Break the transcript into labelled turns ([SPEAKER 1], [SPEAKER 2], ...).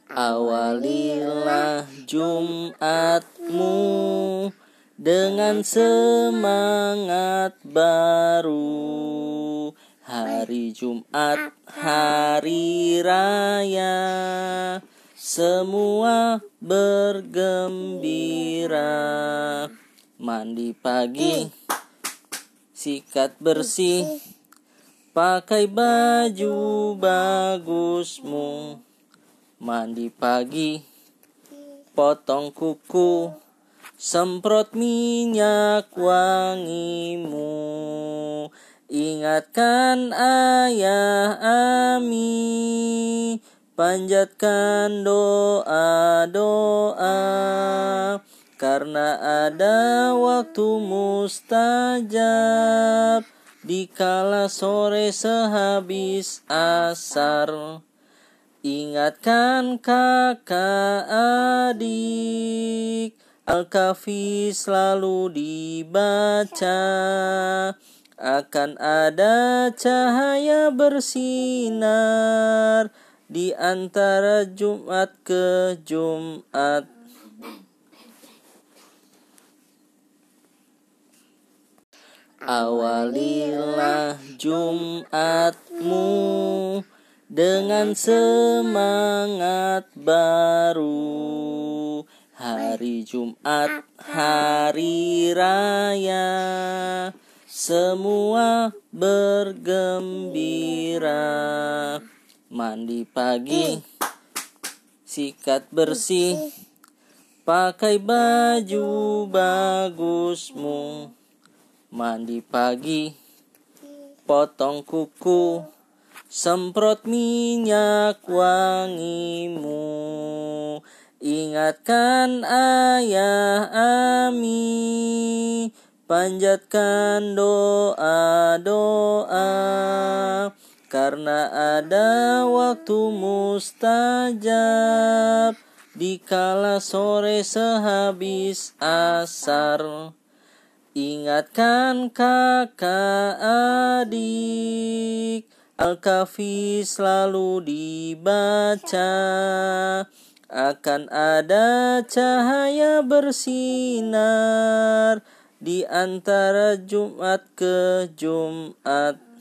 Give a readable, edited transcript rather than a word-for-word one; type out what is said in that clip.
[SPEAKER 1] Awalilah Jumatmu dengan semangat baru. Hari Jumat, hari raya, semua bergembira. Mandi pagi, sikat bersih, pakai baju bagusmu. Mandi pagi, potong kuku, semprot minyak wangimu. Ingatkan ayah Ami, panjatkan doa-doa, karena ada waktu mustajab, dikala sore sehabis asar. Ingatkan kakak adik, Al-Kahfi selalu dibaca, akan ada cahaya bersinar di antara Jumat ke Jumat. Awalilah Jumatmu dengan semangat baru. Hari Jumat, hari raya, semua bergembira. Mandi pagi, sikat bersih, pakai baju bagusmu. Mandi pagi, potong kuku, semprot minyak wangimu. Ingatkan ayah Ami, panjatkan doa-doa, karena ada waktu mustajab, dikala sore sehabis asar. Ingatkan kakak adik, Al-Kahfi selalu dibaca, akan ada cahaya bersinar di antara Jumat ke Jumat.